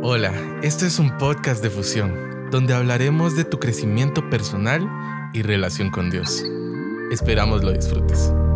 Hola, este es un podcast de Fusión, donde hablaremos de tu crecimiento personal y relación con Dios. Esperamos lo disfrutes.